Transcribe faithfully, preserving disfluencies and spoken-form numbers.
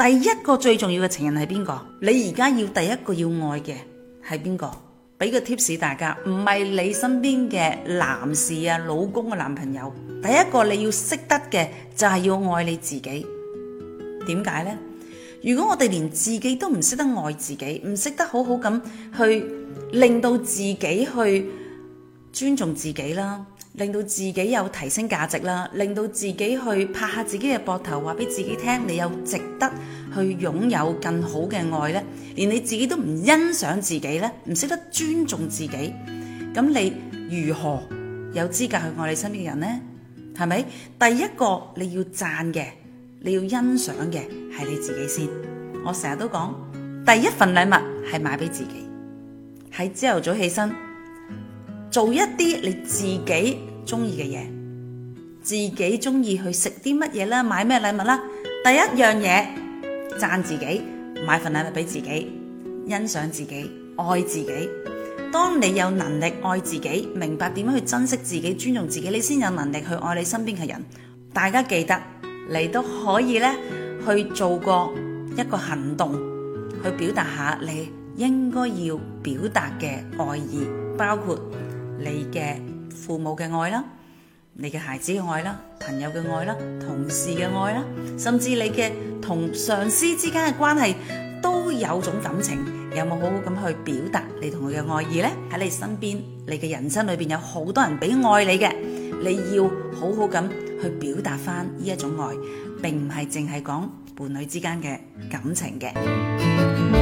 第一個最重要嘅情人係邊個？你而家要第一個要愛嘅係邊個？俾個 tips 大家，唔係你身邊嘅男士啊、老公嘅男朋友。第一個你要識得嘅就係要愛你自己。點解呢？如果我哋連自己都唔識得愛自己，唔識得好好咁去令到自己去尊重自己啦，令到自己有提升價值啦，令到自己去拍下自己嘅膊頭，話俾自己聽你有值得去擁有更好嘅愛呢，連你自己都唔欣賞自己呢，唔識得尊重自己，咁你如何有資格去愛你身邊嘅人呢？係咪？第一個你要讚嘅，你要欣賞嘅係你自己先。我成日都講，第一份禮物係買俾自己，喺朝頭早起身做一啲你自己中意嘅嘢，自己中意去食啲乜嘢啦，買咩禮物啦。第一樣嘢讚自己，買份禮物俾自己，欣賞自己，愛自己。當你有能力愛自己，明白點樣去珍惜自己，尊重自己，你先有能力去愛你身邊嘅人。大家記得，你都可以咧去做過一個行動，去表達下你應該要表達嘅愛意，包括你嘅父母嘅愛啦，你嘅孩子嘅愛啦，朋友嘅愛啦，同事嘅愛啦，甚至你嘅同上司之間嘅關係都有種感情，有冇好好咁去表達你同佢嘅愛意呢？喺你身邊，你嘅人生裏邊有好多人俾愛你嘅，你要好好咁去表達翻呢一種愛，並唔係淨係講伴侶之間嘅感情嘅。